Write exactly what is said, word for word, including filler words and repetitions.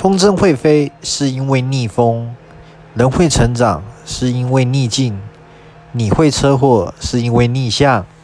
风筝会飞是因为逆风，人会成长是因为逆境，你会车祸是因为逆向。